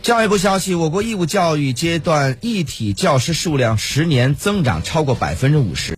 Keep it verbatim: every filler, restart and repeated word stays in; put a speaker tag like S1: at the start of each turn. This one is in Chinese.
S1: 教育部消息，我国义务教育阶段一体教师数量十年增长超过百分之五十。